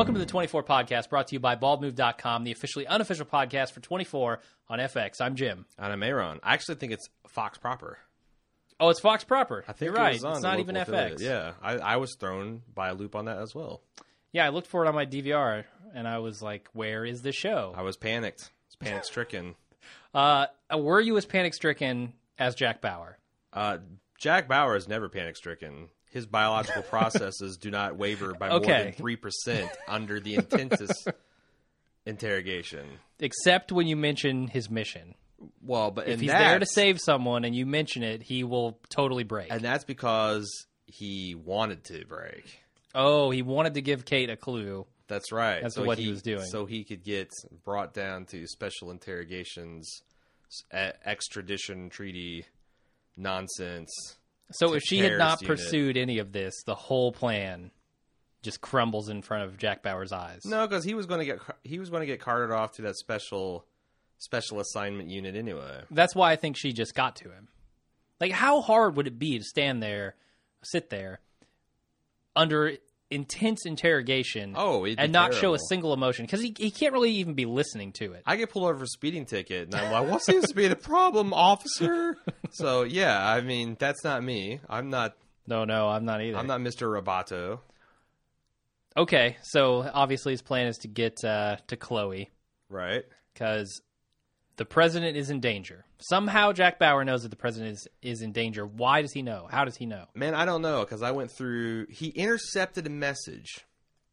Welcome to the 24 Podcast, brought to you by baldmove.com, the officially unofficial podcast for 24 on FX. I'm Jim. And I'm Aaron. I actually think it's Fox proper. Oh, it's Fox proper. I think You're right. It was on it's not even affiliate. FX. Yeah, I was thrown by a loop on that as well. Yeah, I looked for it on my DVR, and I was like, where is the show? I was panicked. I was panic-stricken. Were you as panic-stricken as Jack Bauer? Jack Bauer is never panic-stricken. His biological processes do not waver by more than 3% under the intensest interrogation. Except when you mention his mission. Well, but if he's there to save someone and you mention it, he will totally break. And that's because he wanted to break. Oh, he wanted to give Kate a clue. That's right. That's what he was doing. So he could get brought down to special interrogations, extradition treaty nonsense. So if she had not pursued any of this, the whole plan just crumbles in front of Jack Bauer's eyes. No, because he was going to get carted off to that special assignment unit anyway. That's why I think she just got to him. Like, how hard would it be to sit there under intense interrogation and not show a single emotion? Because he can't really even be listening to it. I get pulled over for a speeding ticket, and I'm like, what seems to be the problem, officer? So, yeah, I mean, that's not me. I'm not... No, I'm not either. I'm not Mr. Roboto. Okay, so obviously his plan is to get to Chloe. Right. Because the president is in danger. Somehow Jack Bauer knows that the president is in danger. Why does he know? How does he know? Man, I don't know, because I went through... He intercepted a message.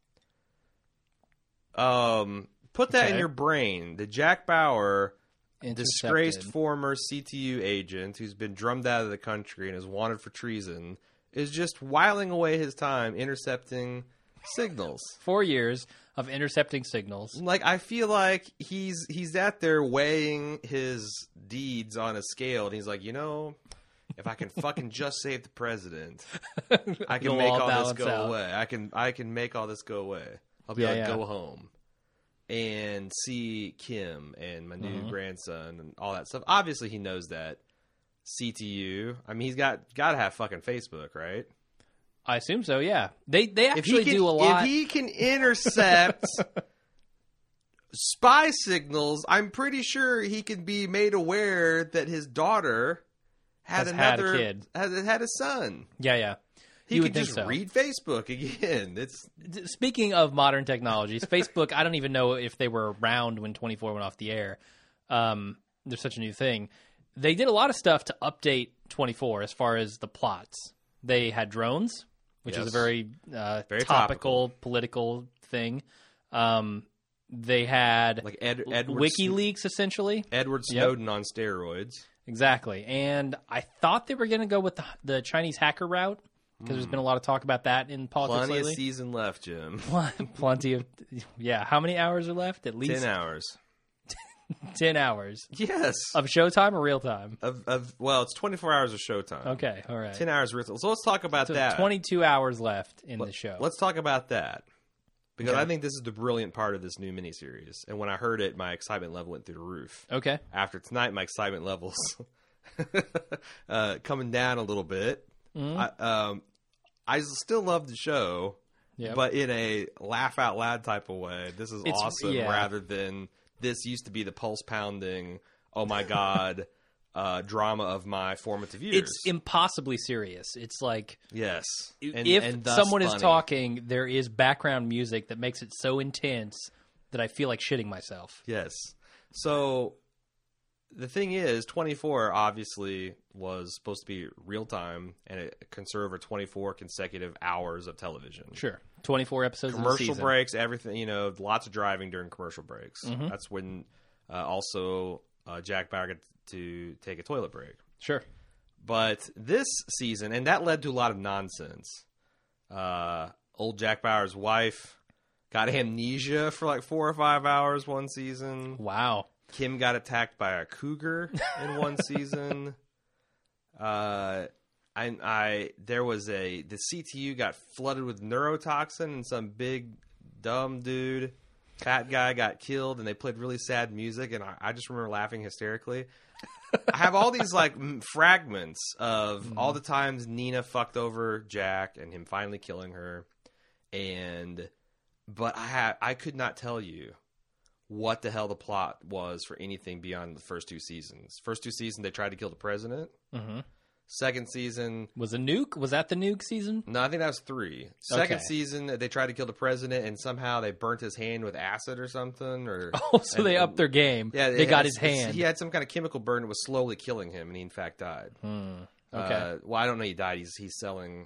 Put that in your brain. The Jack Bauer, disgraced former CTU agent who's been drummed out of the country and is wanted for treason, is just whiling away his time intercepting signals. 4 years of intercepting signals. Like, I feel like he's out there weighing his deeds on a scale, and he's like, if I can fucking just save the president, I can make all this go away. I can make all this go away. I'll be able to go home and see Kim and my new grandson and all that stuff. Obviously, he knows that. CTU. I mean, he's got to have fucking Facebook, right? I assume so, yeah. They actually do a lot. If he can intercept spy signals, I'm pretty sure he can be made aware that his daughter had a kid. Had a son. Yeah. He could just read Facebook again. Speaking of modern technologies, Facebook, I don't even know if they were around when 24 went off the air. There's such a new thing. They did a lot of stuff to update 24 as far as the plots. They had drones, which is a very topical political thing. They had like WikiLeaks, essentially. Edward Snowden on steroids. Exactly. And I thought they were going to go with the Chinese hacker route, because there's been a lot of talk about that in politics lately. Plenty of season left, Jim. Plenty of... Yeah. How many hours are left? At least 10 hours. 10 hours. Yes. Of showtime or real time? Well, it's 24 hours of showtime. Okay, all right. 10 hours real time. So let's talk about that. 22 hours left in the show. Let's talk about that. Because I think this is the brilliant part of this new miniseries. And when I heard it, my excitement level went through the roof. Okay. After tonight, my excitement level's coming down a little bit. Mm-hmm. I still love the show, but in a laugh-out-loud type of way. This is awesome rather than... This used to be the pulse-pounding, oh my God, drama of my formative years. It's impossibly serious. It's like... Yes. If someone is talking, there is background music that makes it so intense that I feel like shitting myself. Yes. So, the thing is, 24 obviously was supposed to be real-time, and it can serve 24 consecutive hours of television. Sure. 24 episodes of the commercial breaks, everything, lots of driving during commercial breaks. Mm-hmm. That's when also Jack Bauer got to take a toilet break. Sure. But this season, and that led to a lot of nonsense. Old Jack Bauer's wife got amnesia for like 4 or 5 hours one season. Wow. Kim got attacked by a cougar in one season. The CTU got flooded with neurotoxin, and some big dumb dude, fat guy, got killed, and they played really sad music, and I just remember laughing hysterically. I have all these fragments of all the times Nina fucked over Jack and him finally killing her, and But I could not tell you what the hell the plot was for anything beyond the first 2 seasons. First 2 seasons, they tried to kill the president. Mm-hmm. Second season... Was a nuke? Was that the nuke season? No, I think that was 3. Second season, they tried to kill the president, and somehow they burnt his hand with acid or something. They upped their game. Yeah, they got his hand. He had some kind of chemical burn that was slowly killing him, and he in fact died. Okay. Well, I don't know he died. He's selling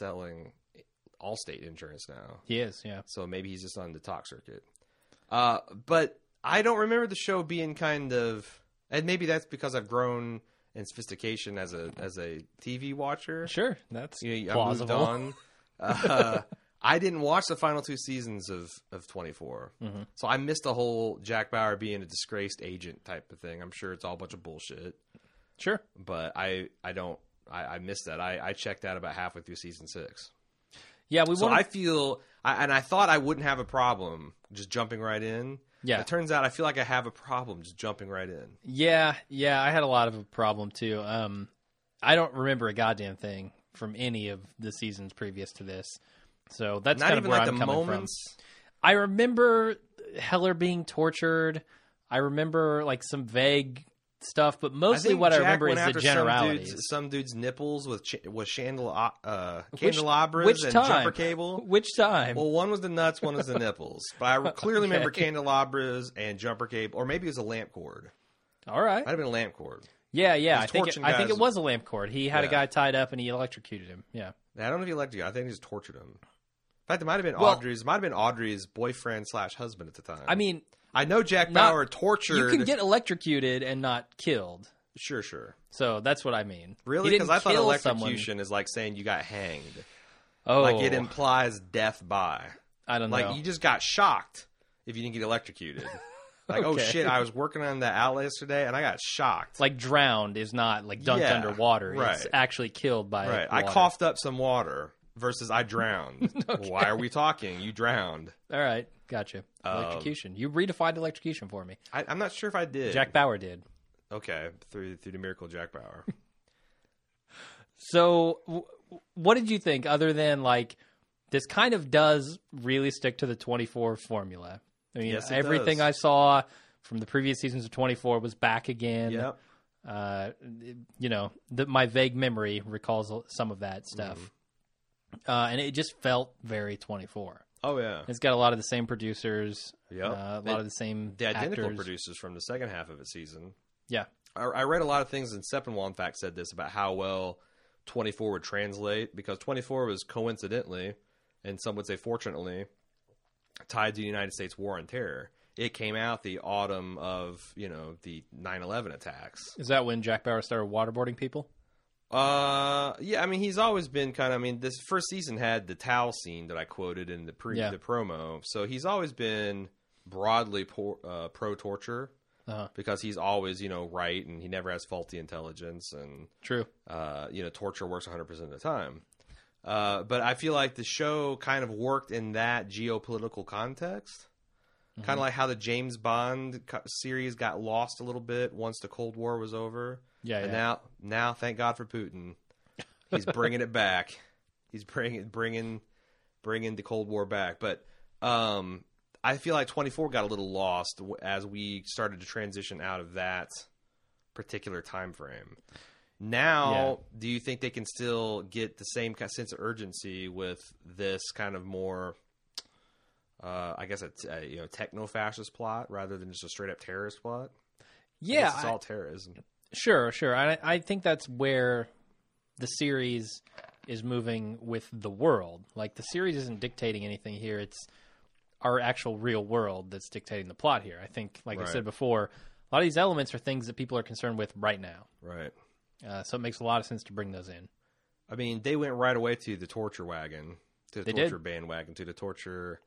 Allstate insurance now. He is, yeah. So maybe he's just on the talk circuit. But I don't remember the show being kind of... And maybe that's because I've grown... and sophistication as a TV watcher. Sure, that's plausible. I moved on. I didn't watch the final 2 seasons of 24, so I missed the whole Jack Bauer being a disgraced agent type of thing. I'm sure it's all a bunch of bullshit. Sure, but I missed that. I checked out about halfway through season 6. Yeah, I feel, and I thought I wouldn't have a problem just jumping right in. Yeah. It turns out I feel like I have a problem just jumping right in. Yeah, I had a lot of a problem too. I don't remember a goddamn thing from any of the seasons previous to this. So that's kind of where I'm coming from. I remember Heller being tortured. I remember like some vague stuff, but mostly what I remember is the generalities. Some dude's nipples with candelabras and jumper cable. Which time? Well, one was the nuts, one was the nipples. But I clearly remember candelabras and jumper cable, or maybe it was a lamp cord. All right. Might have been a lamp cord. Yeah. I think it was a lamp cord. He had a guy tied up and he electrocuted him. Yeah. I don't know if he electrocuted him. I think he just tortured him. In fact, it might have been Audrey's boyfriend / husband at the time. I mean... I know Jack Bauer tortured... You can get electrocuted and not killed. Sure. So that's what I mean. Really? Because I thought electrocution is like saying you got hanged. Oh. Like it implies death by. I don't know. Like you just got shocked if you didn't get electrocuted. Like, oh shit, I was working on the outlet yesterday and I got shocked. Like drowned is not like dunked underwater. Right. It's actually killed by water. I coughed up some water versus I drowned. Okay. Why are we talking? You drowned. All right. Gotcha. Electrocution. You redefined electrocution for me. I'm not sure if I did. Jack Bauer did. Okay. Through the miracle of Jack Bauer. So what did you think other than like this kind of does really stick to the 24 formula? I mean, yes, everything I saw from the previous seasons of 24 was back again. Yep. My vague memory recalls some of that stuff. And it just felt very 24. Oh, yeah. It's got a lot of the same producers. Yep. A lot of the same The identical actors. producers from the second half of its season. Yeah. I read a lot of things, and Sepinwall, in fact, said this about how well 24 would translate, because 24 was coincidentally, and some would say fortunately, tied to the United States War on Terror. It came out the autumn of, the 9/11 attacks. Is that when Jack Bauer started waterboarding people? Yeah, I mean, he's always been this first season had the towel scene that I quoted in the promo. So he's always been broadly pro-torture because he's always, right, and he never has faulty intelligence. And true. Torture works 100% of the time. But I feel like the show kind of worked in that geopolitical context. Kind of like how the James Bond series got lost a little bit once the Cold War was over. Yeah, and now, thank God for Putin. He's bringing it back. He's bringing the Cold War back. But I feel like 24 got a little lost as we started to transition out of that particular time frame. Now, do you think they can still get the same kind of sense of urgency with this kind of more, I guess, a techno-fascist plot rather than just a straight-up terrorist plot? Yeah, it's all terrorism. Sure. I think that's where the series is moving with the world. Like, the series isn't dictating anything here. It's our actual real world that's dictating the plot here. I think, like I said before, a lot of these elements are things that people are concerned with right now. Right. So it makes a lot of sense to bring those in. I mean, they went right away to the torture wagon, to the torture bandwagon, to the torture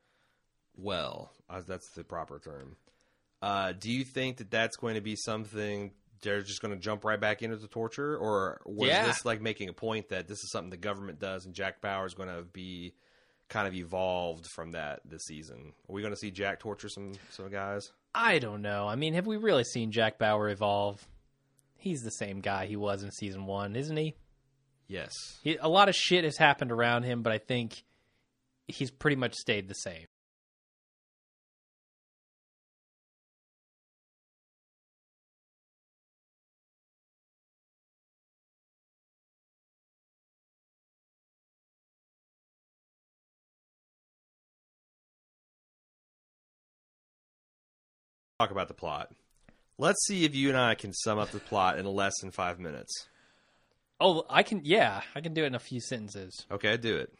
that's the proper term. Do you think that that's going to be something they're just going to jump right back into the torture? Or was this like making a point that this is something the government does and Jack Bauer is going to be kind of evolved from that this season? Are we going to see Jack torture some guys? I don't know. I mean, have we really seen Jack Bauer evolve? He's the same guy he was in season 1, isn't he? Yes. A lot of shit has happened around him, but I think he's pretty much stayed the same. talk about the plot. Let's see if you and I can sum up the plot in less than 5 minutes. Oh, I can. Yeah, I can do it in a few sentences. Okay, do it.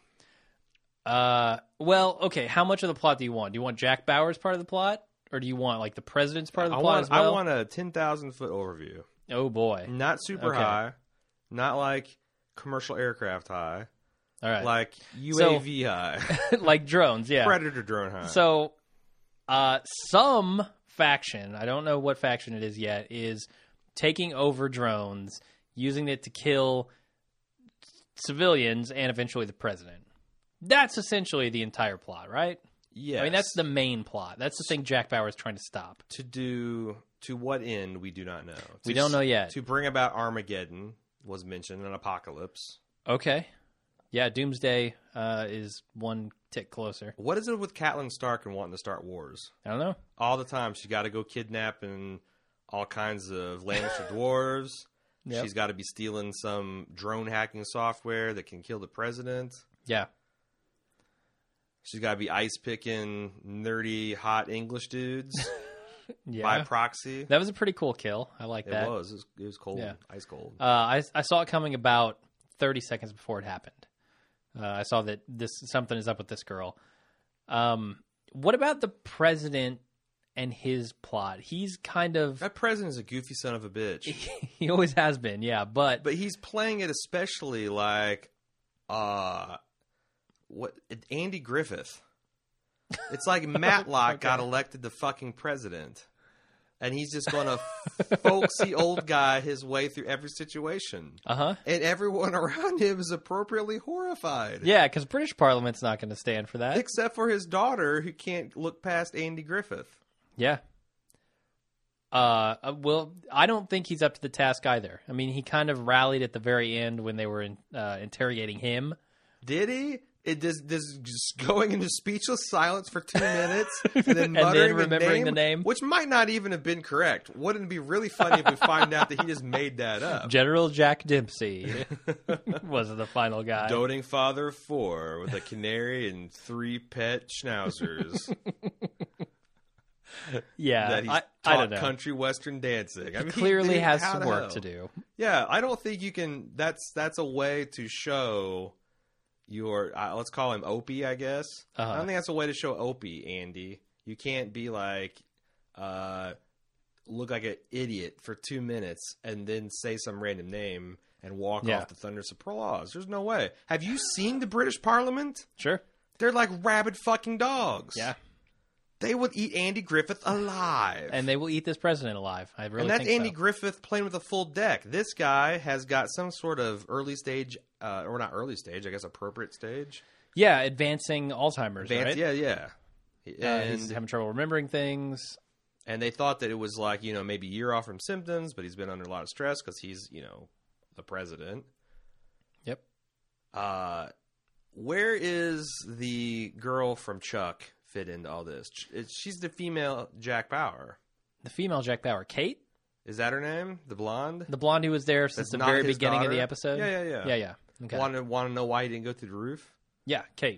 Well, okay. How much of the plot do you want? Do you want Jack Bauer's part of the plot, or do you want like the president's part of the plot as well? I want a 10,000-foot overview. Oh boy, not super high, not like commercial aircraft high. All right, like UAV high, like drones. Yeah, Predator drone high. So, some faction, I don't know what faction it is yet, is taking over drones, using it to kill civilians and eventually the president. That's essentially the entire plot, right? Yes. I mean, that's the main plot. That's the thing Jack Bauer is trying to stop. To what end, we do not know. We don't know yet. To bring about Armageddon was mentioned, an apocalypse. Okay. Yeah, Doomsday is one tick closer. What is it with Catelyn Stark and wanting to start wars? I don't know. All the time. She's got to go kidnapping all kinds of Lannister dwarves. Yep. She's got to be stealing some drone hacking software that can kill the president. Yeah. She's got to be ice picking nerdy, hot English dudes yeah. by proxy. That was a pretty cool kill. I like that. It was cold. Yeah. Ice cold. I saw it coming about 30 seconds before it happened. I saw that something is up with this girl. What about the president and his plot? He's kind of... That president is a goofy son of a bitch. He always has been, yeah. But he's playing it especially like... Andy Griffith. It's like Matlock got elected the fucking president. And he's just going to folksy old guy his way through every situation. Uh-huh. And everyone around him is appropriately horrified. Yeah, because British Parliament's not going to stand for that. Except for his daughter, who can't look past Andy Griffith. Yeah. Well, I don't think he's up to the task either. I mean, he kind of rallied at the very end when they were interrogating him. Did he? It does just going into speechless silence for 2 minutes and then muttering and then remembering the name, which might not even have been correct. Wouldn't it be really funny if we find out that he just made that up? General Jack Dempsey was the final guy. Doting father of 4 with a canary and 3 pet schnauzers. Yeah, that he's I don't know. Country western dancing. He clearly has some work to do. Yeah, I don't think you can. That's a way to show your. Let's call him Opie, I guess. Uh-huh. I don't think that's a way to show Opie, Andy. You can't be like, look like an idiot for 2 minutes and then say some random name and walk off the thunderous applause. There's no way. Have you seen the British Parliament? Sure. They're like rabid fucking dogs. Yeah. They would eat Andy Griffith alive. And they will eat this president alive. I really think so. And that's Andy Griffith playing with a full deck. This guy has got some sort of early stage, or not early stage, I guess appropriate stage. Yeah, advancing Alzheimer's, right? Yeah. And he's having trouble remembering things. And they thought that it was like, maybe a year off from symptoms, but he's been under a lot of stress because he's, the president. Yep. Where is the girl from Chuck fit into all this? She's the female Jack Bauer. The female Jack Bauer. Kate? Is that her name? The blonde? The blonde who was there since the very beginning daughter? of the episode? Yeah. Okay. Want to know why he didn't go through the roof? Yeah, Kate.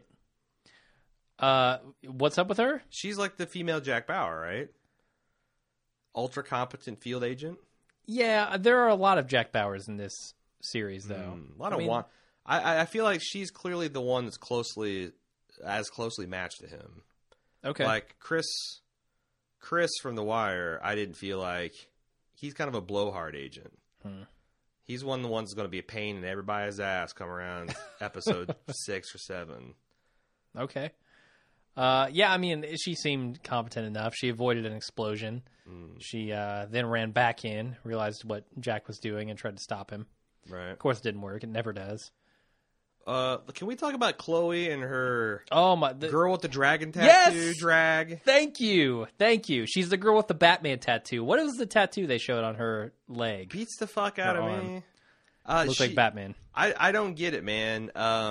What's up with her? She's like the female Jack Bauer, right? Ultra competent field agent? Yeah, there are a lot of Jack Bauers in this series, though. A lot of one. I feel like she's clearly the one that's closely matched to him. Okay. Like Chris from The Wire, I didn't feel like he's kind of a blowhard agent. He's one of the ones that's going to be a pain in everybody's ass come around episode 6 or 7. Okay. Yeah, I mean, she seemed competent enough. She avoided an explosion. She then ran back in, realized what Jack was doing, and tried to stop him. Right. Of course, it didn't work. It never does. Can we talk about Chloe and her girl with the dragon tattoo drag? Thank you. She's the girl with the Batman tattoo. What is the tattoo they showed on her leg? Beats the fuck out of me. Looks like Batman. I don't get it, man.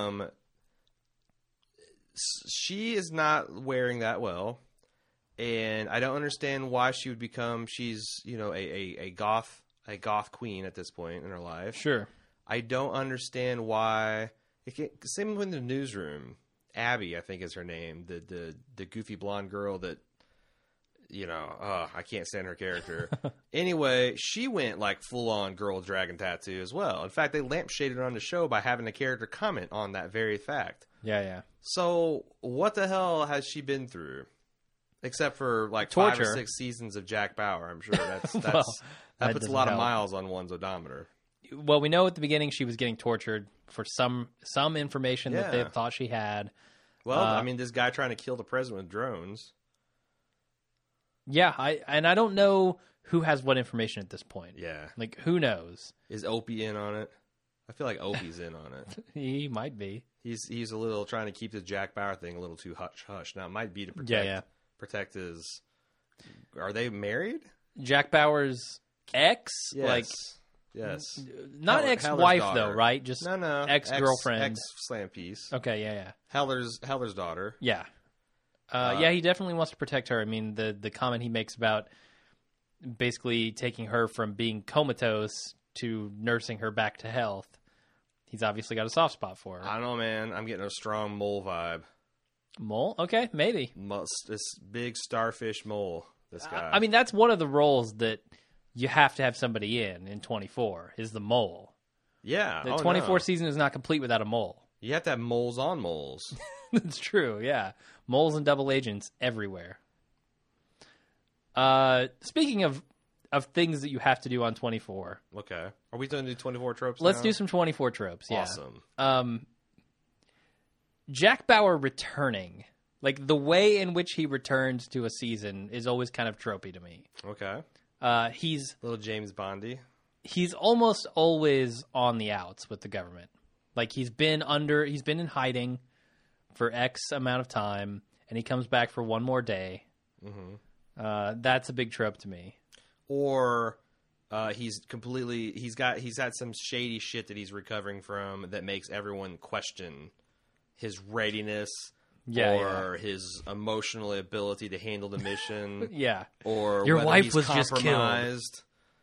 She is not wearing that well, and I don't understand why she would become. She's a goth queen at this point in her life. Sure. I don't understand why. Same with the newsroom. Abby, I think, is her name. The goofy blonde girl that I can't stand her character. Anyway, she went like full-on girl with dragon tattoo as well. In fact, they lampshaded her on the show by having a character comment on that very fact. Yeah. So what the hell has she been through? Except for like torture. 5 or 6 seasons of Jack Bauer. I'm sure that puts a lot of miles on one's odometer. Well, we know at the beginning she was getting tortured for some information that they thought she had. Well, this guy trying to kill the president with drones. Yeah, I don't know who has what information at this point. Yeah. Like, who knows? Is Opie in on it? I feel like Opie's in on it. He might be. He's a little trying to keep the Jack Bauer thing a little too hush-hush. Now, it might be to protect his... Are they married? Jack Bauer's ex? Yes. Yes. Not ex-wife, though, right? Just ex-girlfriend. Ex-slam piece. Okay, yeah. Heller's daughter. Yeah. He definitely wants to protect her. I mean, the comment he makes about basically taking her from being comatose to nursing her back to health, he's obviously got a soft spot for her. I don't know, man. I'm getting a strong mole vibe. Mole? Okay, maybe. This big starfish mole, this guy. I mean, that's one of the roles that you have to have somebody in 24, is the mole. Yeah. The 24 season is not complete without a mole. You have to have moles on moles. That's true, yeah. Moles and double agents everywhere. Speaking of things that you have to do on 24. Okay. Are we going to do 24 tropes Let's now? do some 24 tropes, yeah. Awesome. Jack Bauer returning. Like, the way in which he returns to a season is always kind of tropey to me. Okay. He's... Little James Bondy. He's almost always on the outs with the government. Like, he's been in hiding for X amount of time, and he comes back for one more day. Mm-hmm. That's a big trope to me. Or he's had some shady shit that he's recovering from that makes everyone question his readiness or his emotional ability to handle the mission. Yeah. Or your whether wife he's was just compromised.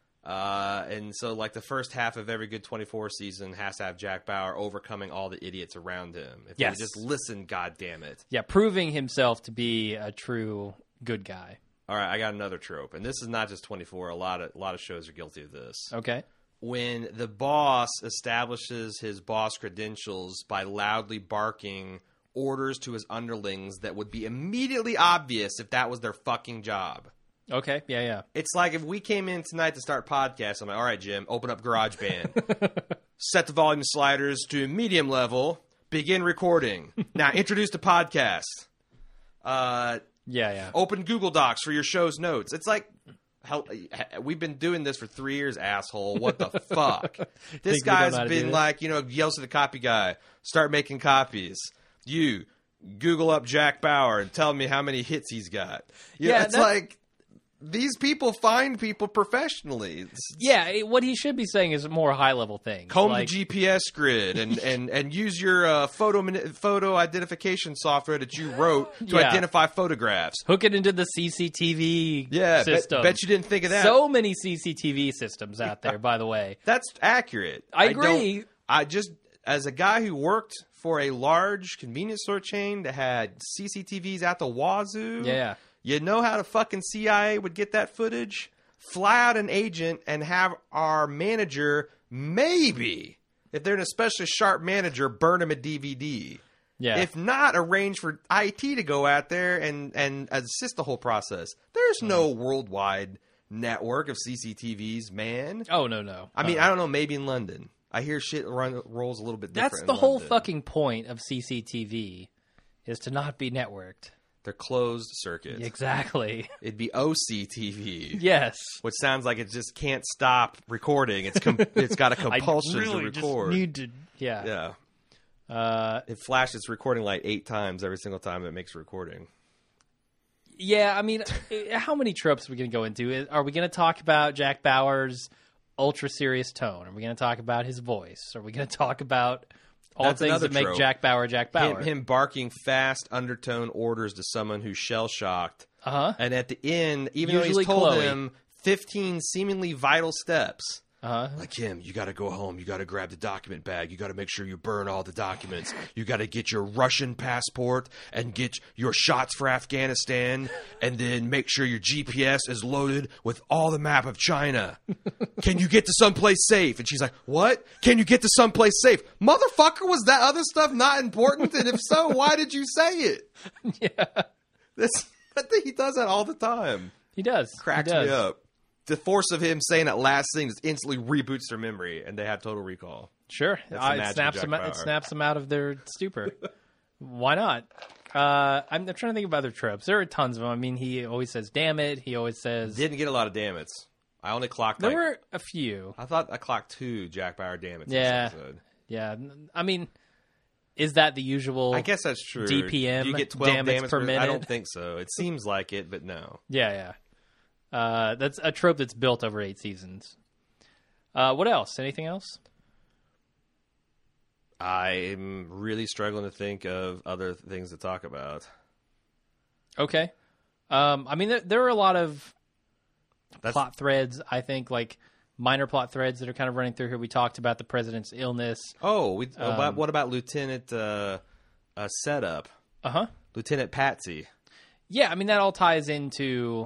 And so, like, the first half of every good 24 season has to have Jack Bauer overcoming all the idiots around him. If they just listen, goddammit. Yeah, proving himself to be a true good guy. All right, I got another trope, and this is not just 24. A lot of shows are guilty of this. Okay. When the boss establishes his boss credentials by loudly barking orders to his underlings that would be immediately obvious if that was their fucking job. Okay, yeah. It's like if we came in tonight to start podcast, I'm like, all right, Jim, open up GarageBand. Set the volume sliders to medium level. Begin recording. Now introduce the podcast. Yeah. Open Google Docs for your show's notes. It's like, we've been doing this for 3 years, asshole. What the fuck? This guy's been like, yells to the copy guy, start making copies. You Google up Jack Bauer and tell me how many hits he's got. It's like... These people find people professionally. What he should be saying is more high-level things. Comb the GPS grid and use your photo identification software that you wrote to identify photographs. Hook it into the CCTV system. Bet you didn't think of that. So many CCTV systems out there, by the way. That's accurate. I agree. As a guy who worked for a large convenience store chain that had CCTVs at the wazoo. Yeah. You know how the fucking CIA would get that footage? Fly out an agent and have our manager, maybe, if they're an especially sharp manager, burn him a DVD. Yeah. If not, arrange for IT to go out there and assist the whole process. There's no worldwide network of CCTVs, man. Oh, no. I mean, I don't know, maybe in London. I hear shit rolls a little bit different. That's the whole fucking point of CCTV, is to not be networked. They're closed circuit. Exactly. It'd be OCTV. Yes. Which sounds like it just can't stop recording. It's got a compulsion to record. Just need to, yeah. It flashes its recording light 8 times every single time it makes a recording. Yeah, I mean, how many tropes are we going to go into? Are we going to talk about Jack Bauer's ultra serious tone? Are we going to talk about his voice? Are we going to talk about... That's things that make Jack Bauer. Him barking fast undertone orders to someone who's shell-shocked. Uh-huh. And at the end, even though he's told him 15 seemingly vital steps, Like, Kim, you got to go home. You got to grab the document bag. You got to make sure you burn all the documents. You got to get your Russian passport and get your shots for Afghanistan, and then make sure your GPS is loaded with all the map of China. Can you get to someplace safe? And she's like, what? Can you get to someplace safe? Motherfucker, was that other stuff not important? And if so, why did you say it? Yeah. I think he does that all the time. He does. Cracks me up. The force of him saying that last thing just instantly reboots their memory, and they have total recall. Sure. It snaps them out of their stupor. Why not? I'm trying to think of other tropes. There are tons of them. I mean, he always says, damn it. He always says... Didn't get a lot of damn it's. I only clocked There were a few. I thought I clocked 2 Jack Bauer damn it's. Yeah. Yeah. I mean, is that the usual... I guess that's true. DPM? Do you get 12 damn per minute? I don't think so. It seems like it, but no. Yeah. That's a trope that's built over 8 seasons. What else? Anything else? I'm really struggling to think of other things to talk about. Okay. I mean, there are a lot of plot threads, I think, like minor plot threads that are kind of running through here. We talked about the president's illness. Oh, what about Lieutenant Setup? Lieutenant Patsy. Yeah, I mean, that all ties into...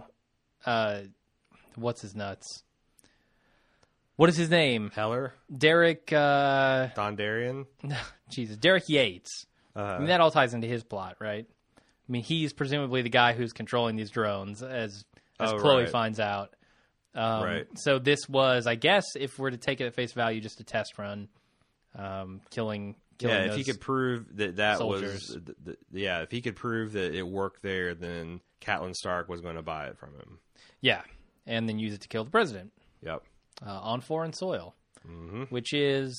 what's his nuts? What is his name? Heller? Derek... Dondarrion? Jesus, Derek Yates. I mean, that all ties into his plot, right? I mean, he's presumably the guy who's controlling these drones, as Chloe finds out. Right. So this was, I guess, if we're to take it at face value, just a test run, killing if he could prove that soldiers. was... if he could prove that it worked there, then Catelyn Stark was going to buy it from him. Yeah, and then use it to kill the president. Yep. On foreign soil, which is,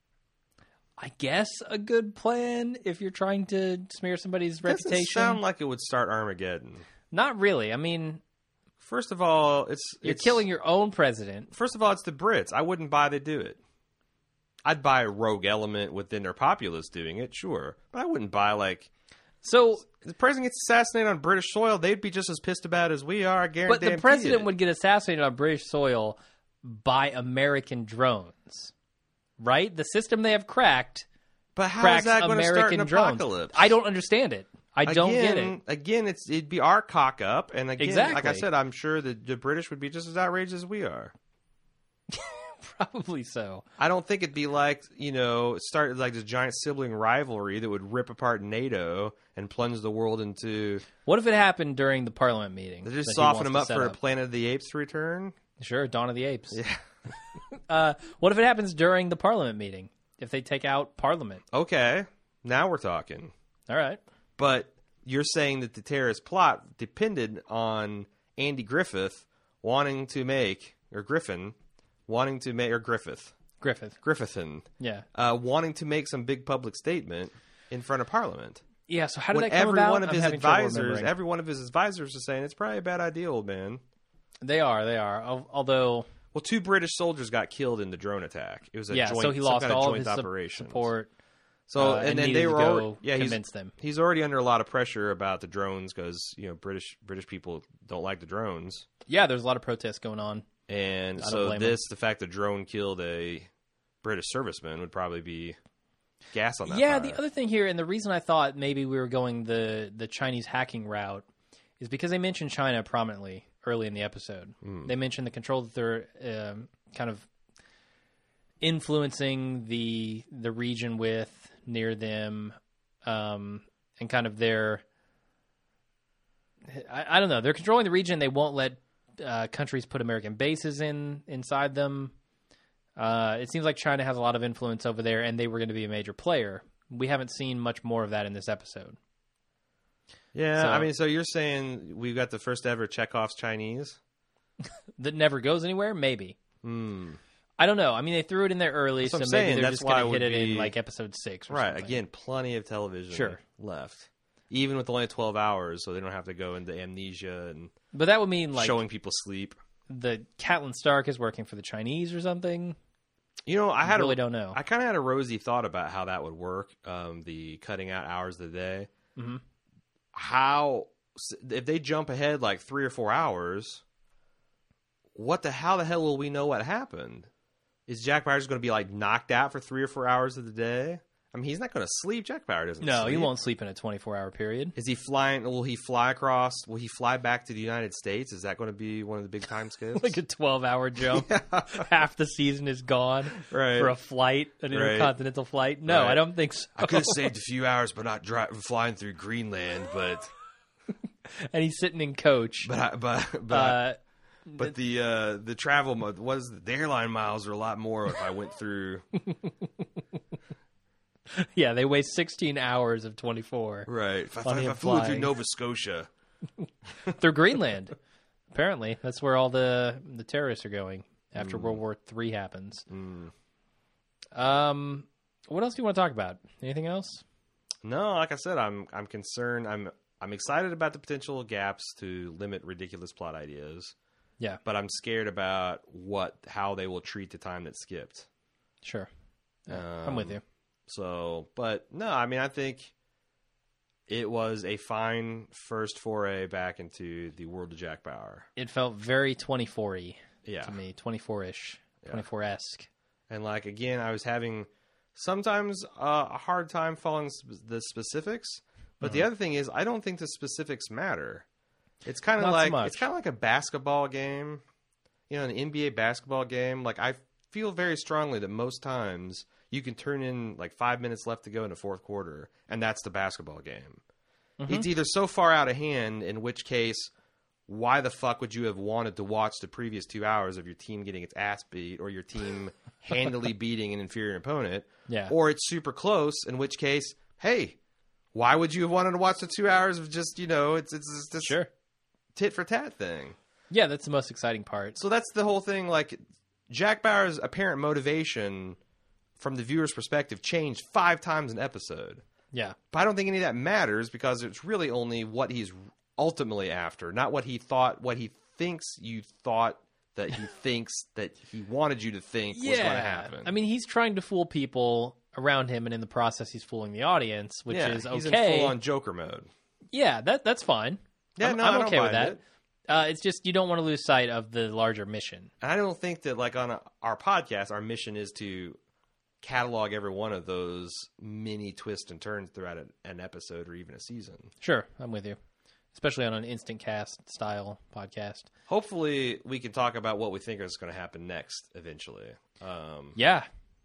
I guess, a good plan if you're trying to smear somebody's reputation. Doesn't sound like it would start Armageddon. Not really. I mean, first of all, you're killing your own president. First of all, it's the Brits. I wouldn't buy they do it. I'd buy a rogue element within their populace doing it, sure, but I wouldn't buy So the president gets assassinated on British soil. They'd be just as pissed about it as we are. I guarantee. But the president would get assassinated on British soil by American drones, right? The system they have cracked. But how is that going to start an apocalypse? I don't understand it. I don't get it. Again, it'd be our cock up, and again, exactly. Like I said, I'm sure the British would be just as outraged as we are. Probably so. I don't think it'd be start like this giant sibling rivalry that would rip apart NATO and plunge the world into... What if it happened during the Parliament meeting? They just soften them up for Planet of the Apes to return? Sure, Dawn of the Apes. Yeah. What if it happens during the Parliament meeting? If they take out Parliament? Okay, now we're talking. All right. But you're saying that the terrorist plot depended on Andy Griffith wanting to make... Or Griffin... Wanting to make, or Griffithin. Yeah. Wanting to make some big public statement in front of Parliament. Yeah, so how did that come about? Every one of his advisors is saying, it's probably a bad idea, old man. They are. Although... Well, 2 British soldiers got killed in the drone attack. It was a joint, so he lost all of his operation. Support. So, and then they were convince them. He's already under a lot of pressure about the drones because, British people don't like the drones. Yeah, there's a lot of protests going on. And so the fact that drone killed a British serviceman would probably be gas on that fire. The other thing here, and the reason I thought maybe we were going the Chinese hacking route, is because they mentioned China prominently early in the episode. They mentioned the control that they're kind of influencing the region with near them, and kind of their... I don't know. They're controlling the region. They won't let countries put American bases inside them. It seems like China has a lot of influence over there, and they were going to be a major player. We haven't seen much more of that in this episode. Yeah, so you're saying we've got the first ever Chekhov's Chinese? That never goes anywhere? Maybe. I don't know. I mean, they threw it in there early, so maybe they're just going to hit it in like episode 6 or something. Right, again, plenty of television left. Even with only 12 hours, so they don't have to go into amnesia and... But that would mean, like... showing people sleep. The Catelyn Stark is working for the Chinese or something? I really don't know. I kind of had a rosy thought about how that would work, the cutting out hours of the day. Mm-hmm. If they jump ahead like 3 or 4 hours, how the hell will we know what happened? Is Jack Bauer just going to be like knocked out for 3 or 4 hours of the day? I mean, he's not going to sleep. Jack Bauer doesn't No, sleep. he won't sleep in a 24-hour period. Is he flying? Will he fly across? Will he fly back to the United States? Is that going to be one of the big time skips? Like a 12-hour jump. Half the season is gone for a flight, an intercontinental flight. No, I don't think so. I could have saved a few hours by not flying through Greenland, but... And he's sitting in coach. But the travel mode the airline miles are a lot more if I went through. Yeah, they waste 16 hours of 24. Right. If I flew through Nova Scotia. Through Greenland. Apparently. That's where all the terrorists are going after World War III happens. What else do you want to talk about? Anything else? No, like I said, I'm concerned. I'm excited about the potential gaps to limit ridiculous plot ideas. Yeah. But I'm scared about how they will treat the time that skipped. Sure. I'm with you. So, but no, I mean, I think it was a fine first foray back into the world of Jack Bauer. It felt very 24-y to me, 24-ish, 24-esque. And like, again, I was having sometimes a hard time following the specifics. But the other thing is, I don't think the specifics matter. It's kind of like a basketball game, an NBA basketball game. Like, I feel very strongly that most times you can turn in like 5 minutes left to go in the fourth quarter, and that's the basketball game. It's either so far out of hand, in which case, why the fuck would you have wanted to watch the previous 2 hours of your team getting its ass beat, or your team handily beating an inferior opponent? Yeah. Or it's super close, in which case, hey, why would you have wanted to watch the 2 hours of just, it's just sure. tit for tat thing? Yeah, that's the most exciting part. So that's the whole thing. Like, Jack Bauer's apparent motivation from the viewer's perspective changed 5 times an episode. Yeah. But I don't think any of that matters, because it's really only what he's ultimately after, not what he thinks you thought that he thinks that he wanted you to think was going to happen. I mean, he's trying to fool people around him, and in the process he's fooling the audience, which is okay. He's in full-on Joker mode. Yeah, that's fine. Yeah, I'm okay with that. It's just you don't want to lose sight of the larger mission. And I don't think that, like, on our podcast, our mission is to catalog every one of those mini twists and turns throughout an episode or even a season. Sure, I'm with you. Especially on an instant cast style podcast. Hopefully we can talk about what we think is going to happen next eventually. Yeah.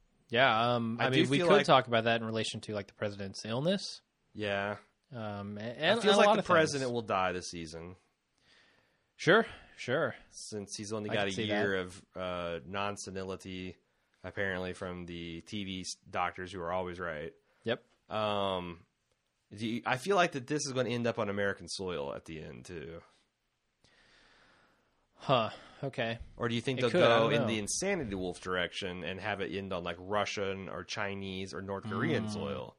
I mean, we could talk about that in relation to, like, the president's illness. Yeah. And it feels like the president will die this season. Sure. Since he's only got a year of non-senility, apparently, from the TV doctors who are always right. Yep. I feel like that this is going to end up on American soil at the end, too. Huh. Okay. Or do you think they'll go in the Insanity Wolf direction and have it end on, like, Russian or Chinese or North Korean soil?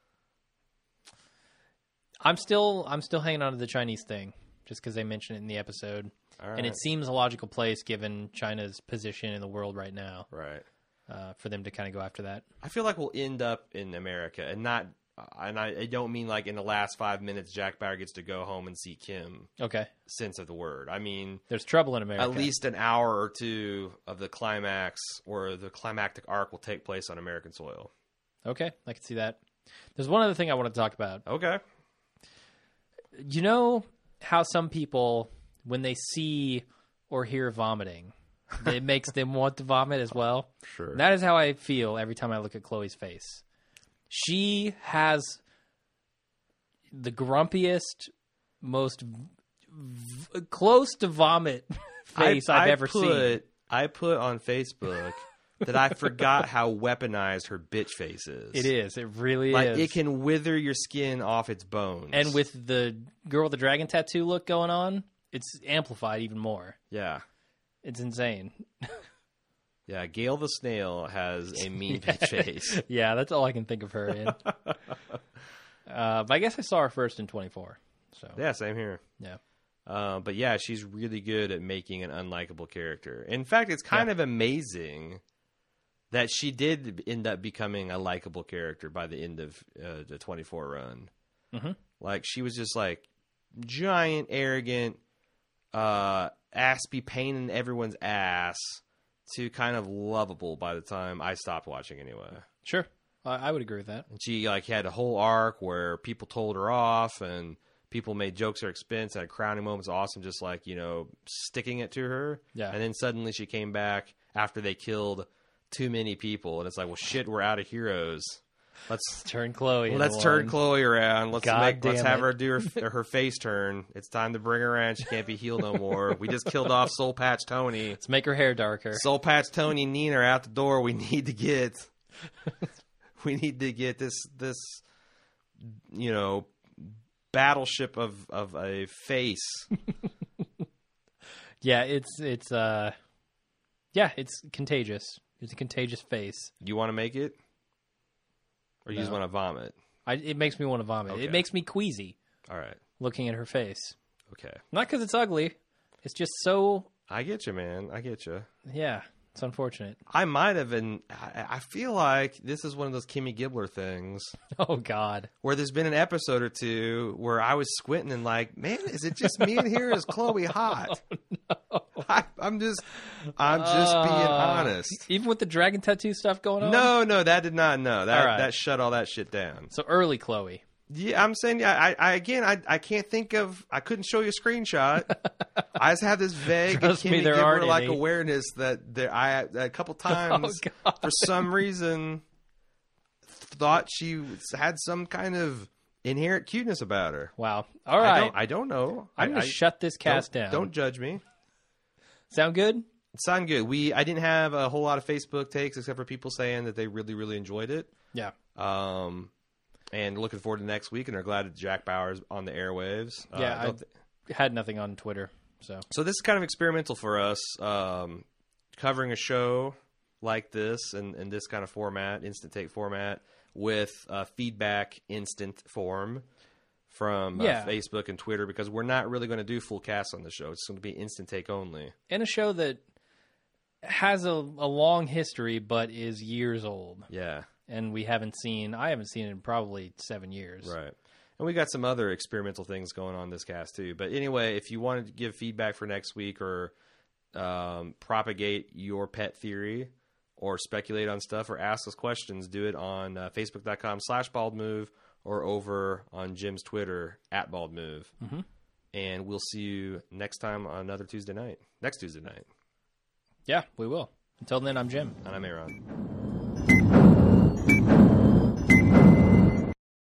I'm still hanging on to the Chinese thing, just because they mentioned it in the episode. All right. And it seems a logical place given China's position in the world right now. Right. For them to kind of go after that. I feel like we'll end up in America, and I don't mean like in the last 5 minutes Jack Bauer gets to go home and see Kim. Okay. Sense of the word. I mean, there's trouble in America. At least an hour or two of the climax or the climactic arc will take place on American soil. Okay, I can see that. There's one other thing I want to talk about. Okay. You know how some people, when they see or hear vomiting, it makes them want to vomit as well? Sure. That is how I feel every time I look at Chloe's face. She has the grumpiest, most close to vomit face I've ever seen. I put on Facebook that I forgot how weaponized her bitch face is. It is. It really like, is. It can wither your skin off its bones. And with the girl with the dragon tattoo look going on, it's amplified even more. Yeah. It's insane. Yeah, Gail the Snail has a mean bitch face. Yeah, that's all I can think of her in. But I guess I saw her first in 24. So yeah, same here. Yeah. But yeah, she's really good at making an unlikable character. In fact, it's kind of amazing that she did end up becoming a likable character by the end of the 24 run. Mm-hmm. Like, she was just like giant, arrogant, ass be pain in everyone's ass, to kind of lovable by the time I stopped watching anyway. Sure. I would agree with that. And she like had a whole arc where people told her off and people made jokes at her expense, had crowning moments. Awesome, just like, sticking it to her. Yeah. And then suddenly she came back after they killed too many people. And it's like, well, shit, we're out of heroes. Let's turn Chloe. Let's turn Chloe around. Let's have her do her face turn. It's time to bring her around. She can't be healed no more. We just killed off Soul Patch Tony. Let's make her hair darker. Soul Patch Tony and Nina are out the door. We need to get this battleship of a face. Yeah, it's contagious. It's a contagious face. You want to make it? Or you just want to vomit? It makes me want to vomit. Okay. It makes me queasy. All right. Looking at her face. Okay. Not because it's ugly. It's just so... I get you, man. I get you. Yeah. It's unfortunate. I might have been... I feel like this is one of those Kimmy Gibbler things. Oh, God. Where there's been an episode or two where I was squinting and like, man, is it just me in here? Is Chloe hot? Oh, no. I'm just being honest. Even with the dragon tattoo stuff going on? No, that did not. No, that shut all that shit down. So early Chloe. Yeah, I'm saying, I can't think of. I couldn't show you a screenshot. I just have this vague Kimmy Gibbler like awareness that a couple times for some reason thought she had some kind of inherent cuteness about her. Wow. All right. I don't know. I'm going to shut this cast down. Don't judge me. Sound good? Sound good. I didn't have a whole lot of Facebook takes except for people saying that they really, really enjoyed it. Yeah. And looking forward to next week, and are glad that Jack Bauer's on the airwaves. Yeah, I had nothing on Twitter. So this is kind of experimental for us, covering a show like this and this kind of format, instant take format, with feedback instant form from Facebook and Twitter, because we're not really going to do full casts on the show. It's going to be instant take only. And a show that has a long history, but is years old. Yeah. And I haven't seen it in probably 7 years. Right. And we got some other experimental things going on this cast too. But anyway, if you wanted to give feedback for next week or propagate your pet theory or speculate on stuff or ask us questions, do it on Facebook.com/baldmove or over on Jim's Twitter @baldmove. Mm-hmm. And we'll see you next time on next Tuesday night. Yeah, we will. Until then, I'm Jim. And I'm Aaron.